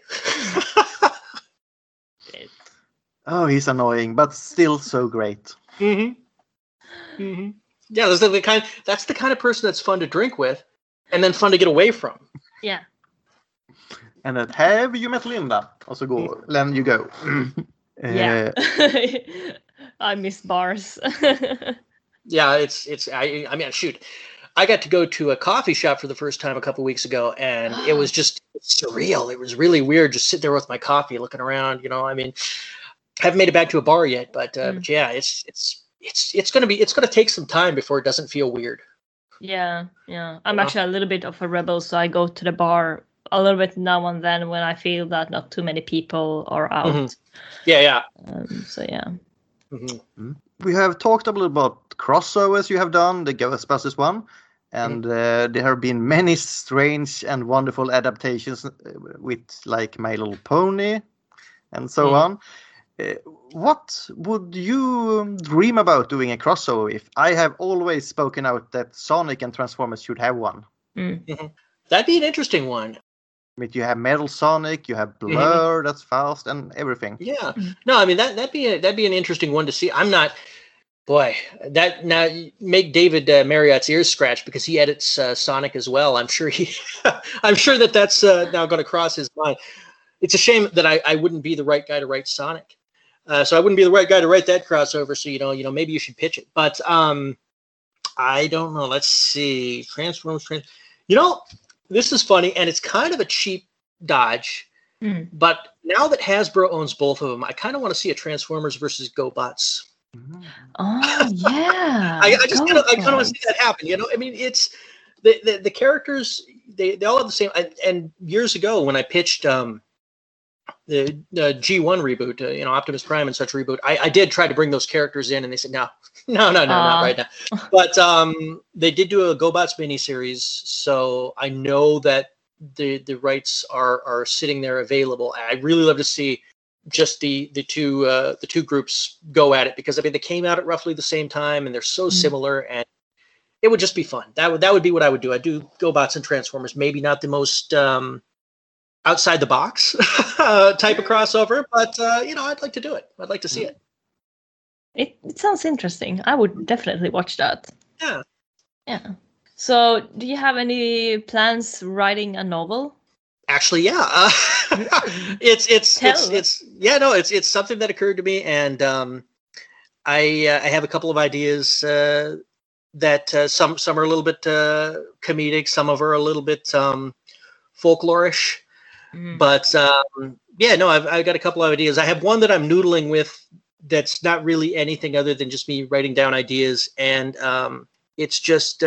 Oh, he's annoying, but still so great. Mm-hmm. Mm-hmm. Yeah, that's the kind of person that's fun to drink with and then fun to get away from. Yeah. And then have you met Linda? Also go, then you go. Yeah. I miss bars. Yeah, I mean, shoot. I got to go to a coffee shop for the first time a couple weeks ago, and it was just surreal. It was really weird just sitting there with my coffee, looking around. I mean, haven't made it back to a bar yet, but yeah, it's gonna take some time before it doesn't feel weird. Yeah. I'm actually a little bit of a rebel, so I go to the bar a little bit now and then when I feel that not too many people are out. Mm-hmm. Yeah. So yeah. Mm-hmm. We have talked a little about crossovers you have done, the Ghostbusters one, and there have been many strange and wonderful adaptations with like My Little Pony and so on. What would you dream about doing a crossover with? I have always spoken out that Sonic and Transformers should have one. Mm-hmm. That'd be an interesting one. But you have Metal Sonic, you have Blur, that's fast, and everything. Yeah, no, I mean that'd be an interesting one to see. I'm not, boy, that now make David Marriott's ears scratch because he edits Sonic as well. I'm sure that's now going to cross his mind. It's a shame that I wouldn't be the right guy to write Sonic, so I wouldn't be the right guy to write that crossover. So maybe you should pitch it, but I don't know. Let's see, Transformers. This is funny, and it's kind of a cheap dodge. But now that Hasbro owns both of them, I kind of want to see a Transformers versus GoBots. Oh yeah, I kind of want to see that happen. I mean, it's the characters. They all have the same. And years ago, when I pitched the G1 reboot, Optimus Prime and such reboot, I did try to bring those characters in, and they said no, not right now. But they did do a GoBots miniseries, so I know that the rights are sitting there available. I really love to see just the two groups go at it, because I mean they came out at roughly the same time and they're so similar, and it would just be fun. That would be what I would do. I'd do GoBots and Transformers. Maybe not the most outside the box type of crossover, but I'd like to do it. I'd like to see it. It sounds interesting. I would definitely watch that. Yeah. Yeah. So, do you have any plans writing a novel? Actually, yeah. It's something that occurred to me, and I have a couple of ideas that some are a little bit comedic, some of are a little bit folklorish, but I've got a couple of ideas. I have one that I'm noodling with that's not really anything other than just me writing down ideas, and it's just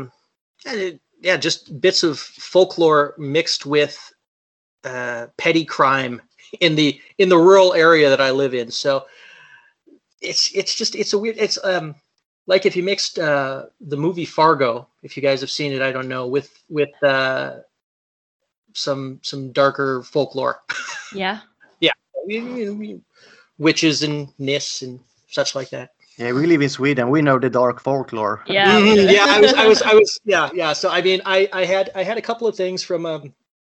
just bits of folklore mixed with petty crime in the rural area that I live in. So it's a weird, it's like if you mixed the movie Fargo, if you guys have seen it, I don't know, with some darker folklore. Yeah. Yeah. Witches and Nis and such like that. Yeah, we live in Sweden. We know the dark folklore. Yeah. Yeah, I was yeah. So I mean, I had a couple of things from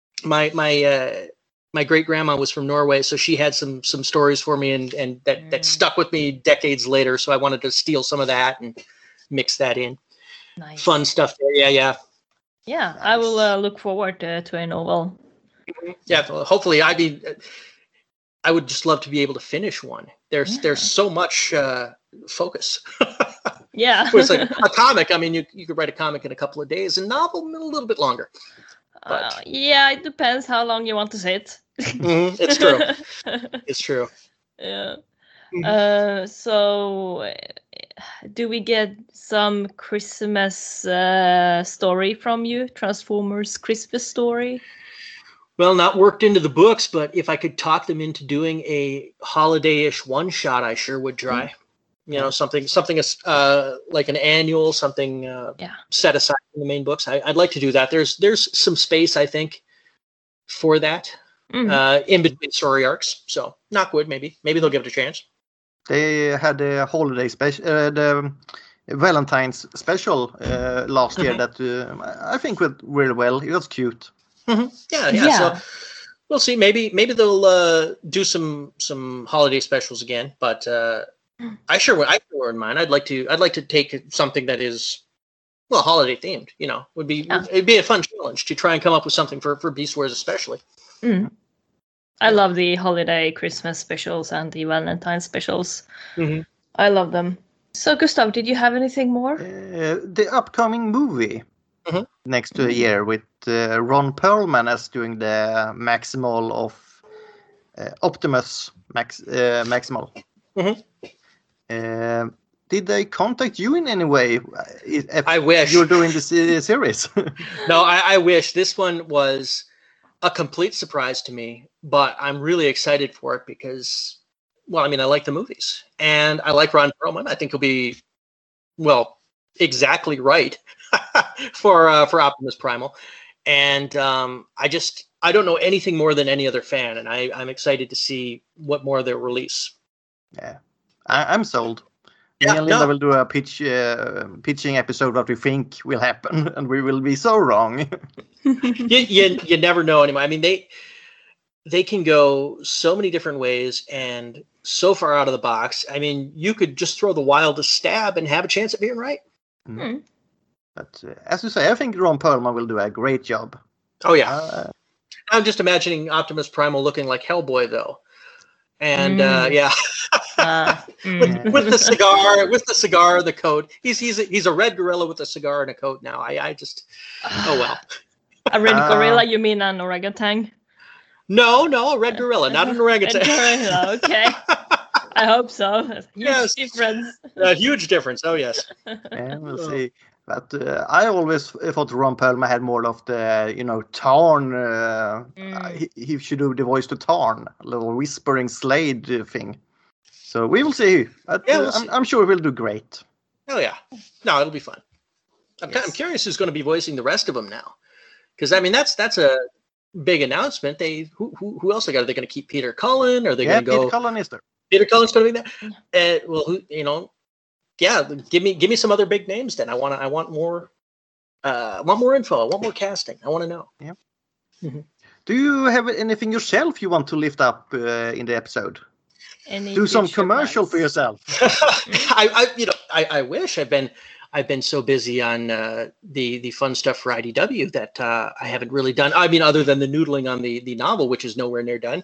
my great grandma was from Norway, so she had some stories for me, and that stuck with me decades later. So I wanted to steal some of that and mix that in. Nice. Fun stuff there. Yeah. Yeah, nice. I will look forward to a novel. Yeah, hopefully. I would just love to be able to finish one. There's so much focus. Yeah. It's like a comic. I mean, you could write a comic in a couple of days, and novel a little bit longer. But yeah, it depends how long you want to sit. It's true. It's true. Yeah. So, do we get some Christmas story from you? Transformers Christmas story? Well, not worked into the books, but if I could talk them into doing a holiday-ish one-shot, I sure would try. Something like an annual, something set aside in the main books. I'd like to do that. There's some space, I think, for that in between story arcs. So Knockwood, maybe they'll give it a chance. They had a holiday special, the Valentine's special last year that I think went really well. It was cute. Mm-hmm. Yeah. So we'll see. Maybe they'll do some holiday specials again, but. I sure wouldn't mind. I'd like to take something that is, well, holiday themed. It'd be a fun challenge to try and come up with something for Beast Wars especially. Mm. I love the holiday Christmas specials and the Valentine specials. Mm-hmm. I love them. So, Gustav, did you have anything more? The upcoming movie next year with Ron Perlman as doing the Maximal of Optimus Maximal. Mm-hmm. Did they contact you in any way? I wish you're doing the series. No, I wish. This one was a complete surprise to me, but I'm really excited for it because, well, I mean, I like the movies and I like Ron Perlman. I think he'll be, well, exactly right for Optimus Primal, and I don't know anything more than any other fan, and I'm excited to see what more they'll release. Yeah. I'm sold. Me and Linda will do a pitching episode what we think will happen, and we will be so wrong. you never know anymore. I mean, they can go so many different ways and so far out of the box. I mean, you could just throw the wildest stab and have a chance at being right. Mm. But as you say, I think Ron Perlman will do a great job. Oh yeah. I'm just imagining Optimus Primal looking like Hellboy though. And with the cigar, the coat. He's a red gorilla with a cigar and a coat now. I just well. A red gorilla? You mean an orangutan? No, a red gorilla, not an orangutan. Gorilla, okay. I hope so. Huge difference. A huge difference. Oh yes. Yeah, we'll see. But I always thought Ron Perlman had more of the, Tarn. He should do the voice to Tarn, a little whispering Slade thing. So we will see. But, I'm sure we'll do great. Oh yeah, no, it'll be fun. I'm curious who's going to be voicing the rest of them now, because I mean that's a big announcement. Who else they got? Are they going to keep Peter Cullen? Are they going to go? Peter Cullen is there. Peter Cullen's going to be there. Well, yeah, give me some other big names then. I want more info. I want more casting. I want to know. Yeah. Mm-hmm. Do you have anything yourself you want to lift up in the episode? Do some commercial for yourself. I wish. I've been so busy on the fun stuff for IDW that I haven't really done. I mean, other than the noodling on the novel, which is nowhere near done.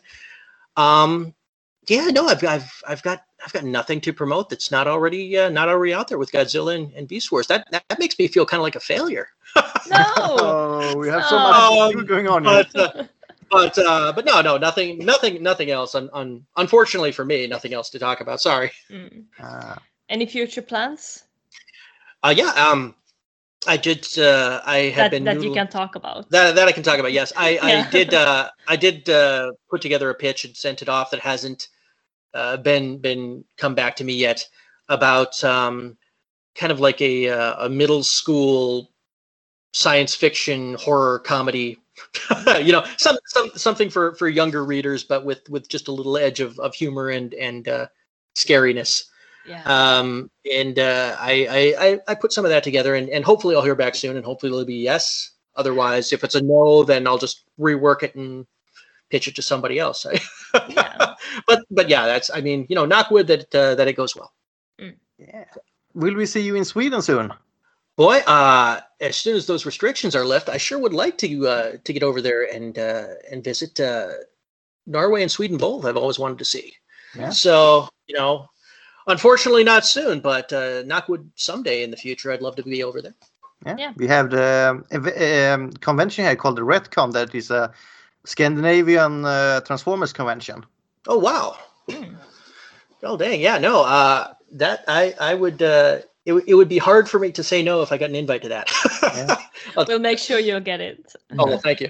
Yeah, no, I've got nothing to promote that's not already out there with Godzilla and Beast Wars. That makes me feel kind of like a failure. No, we have so much going on. But no, nothing else. Unfortunately for me, nothing else to talk about. Sorry. Any future plans? Yeah. I did. I had been that you can talk about. That I can talk about. Yes, I did. I did put together a pitch and sent it off. That hasn't been come back to me yet about kind of like a middle school science fiction horror comedy. Something for younger readers, but with just a little edge of humor and scariness. Yeah. I put some of that together, and hopefully I'll hear back soon, and hopefully it'll be yes. Otherwise, if it's a no, then I'll just rework it and pitch it to somebody else. Yeah. But yeah, that's, I mean, knock wood that it goes well. Yeah. Will we see you in Sweden soon? Boy, as soon as those restrictions are lifted, I sure would like to get over there and visit Norway and Sweden both. I've always wanted to see. Yeah. So, unfortunately not soon, but knock wood, someday in the future, I'd love to be over there. Yeah. We have the convention here called the Retcon. That is a Scandinavian Transformers convention. Oh, wow. Oh, dang. Yeah, no, that I would... It would be hard for me to say no if I got an invite to that. Yeah. We'll make sure you'll get it. Oh, well, thank you.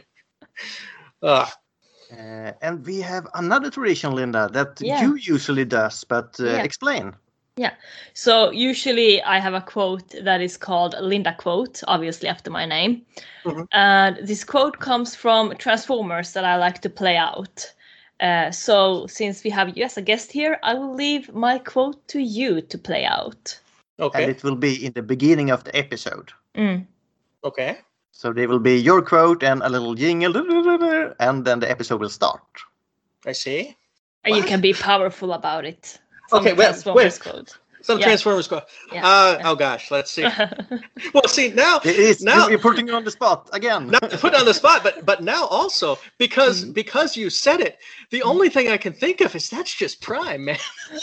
And we have another tradition, Linda, that you usually does, but explain. Yeah. So usually I have a quote that is called Linda Quote, obviously after my name. Mm-hmm. And this quote comes from Transformers that I like to play out. So since we have you as a guest here, I will leave my quote to you to play out. Okay. And it will be in the beginning of the episode. Okay. So there will be your quote and a little jingle, and then the episode will start. I see. And you can be powerful about it. Okay, wait. Quote. Some Transformers quote. Yeah. Oh gosh, let's see. Well, see now you're putting you on the spot again. Not to put on the spot, but now also because you said it, the only thing I can think of is that's just Prime, man.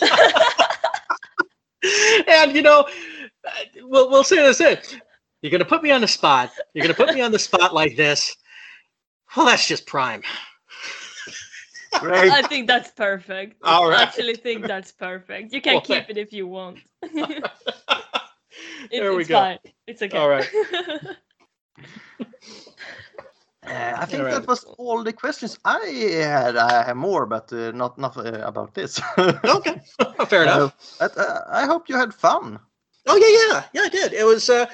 And we'll say this in. You're gonna put me on the spot. You're gonna put me on the spot like this. Well, that's just Prime. Great. I think that's perfect. All right. I actually think that's perfect. You can keep it if you want. There we it's go. Fine. It's okay. All right. I think that was all the questions I had. I have more, but not about this. Okay, fair enough. I hope you had fun. Oh yeah, I did. It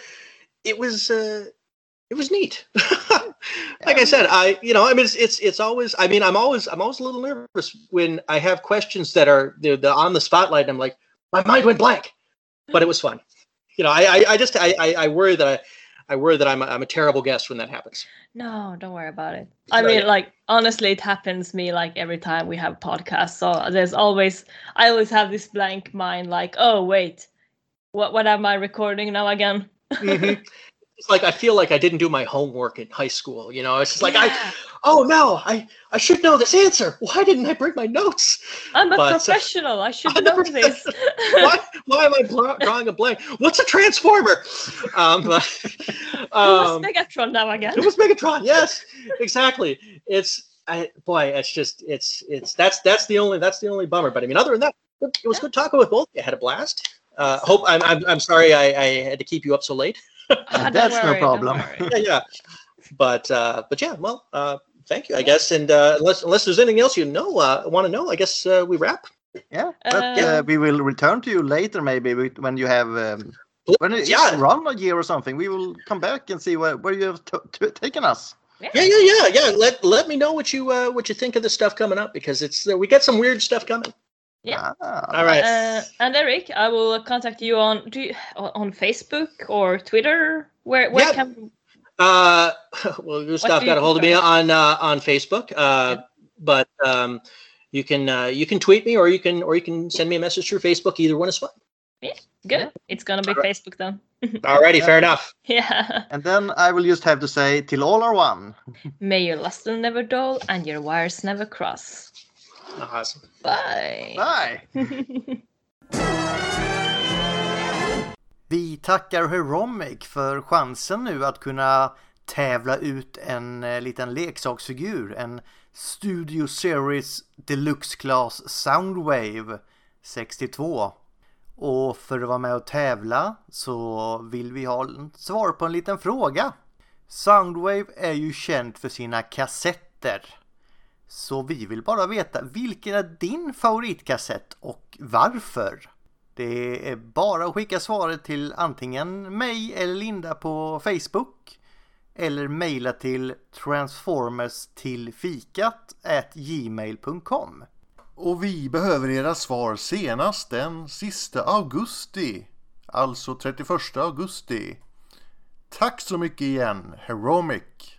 was neat. Like I said, it's always. I mean, I'm always a little nervous when I have questions that are they're on the spotlight. And I'm like, my mind went blank, but it was fun. I worry that I'm a terrible guest when that happens. No, don't worry about it. I mean, like, honestly, it happens to me like every time we have podcasts. So I always have this blank mind, like, oh wait, what am I recording now again? Mm-hmm. It's like I feel like I didn't do my homework in high school. It's just like I should know this answer. Why didn't I bring my notes? I'm a professional. I should know this. Why am I drawing a blank? What's a transformer? Who was Megatron now again? It was Megatron. Yes, exactly. That's the only bummer. But I mean, other than that, it was good talking with both. I had a blast. I'm sorry I had to keep you up so late. That's no problem. Yeah. But yeah, well, thank you, I guess. And unless there's anything else want to know, I guess we wrap. Yeah, but we will return to you later, maybe when you have when it's run a year or something. We will come back and see where you have taken us. Yeah. Let me know what you think of the stuff coming up, because we get some weird stuff coming. Yeah. All right. And Eric, I will contact you on Facebook or Twitter. Where can? Well, Gustav got a hold of me on Facebook, but you can tweet me, or you can send me a message through Facebook. Either one is fine. Yeah, good. It's gonna be Facebook then. Alrighty, fair enough. Yeah. And then I will just have to say, till all are one. May your luster never dull and your wires never cross. Awesome. Bye. Bye. Vi tackar Heromic för chansen nu att kunna tävla ut en liten leksaksfigur, en Studio Series Deluxe Class Soundwave 62. Och för att vara med och tävla så vill vi ha svar på en liten fråga. Soundwave är ju känt för sina kassetter. Så vi vill bara veta, vilken är din favoritkassett och varför? Det är bara att skicka svaret till antingen mig eller Linda på Facebook eller mejla till transformers-tillfikat@gmail.com. Och vi behöver era svar senast den sista augusti, alltså 31 augusti. Tack så mycket igen, Heromic!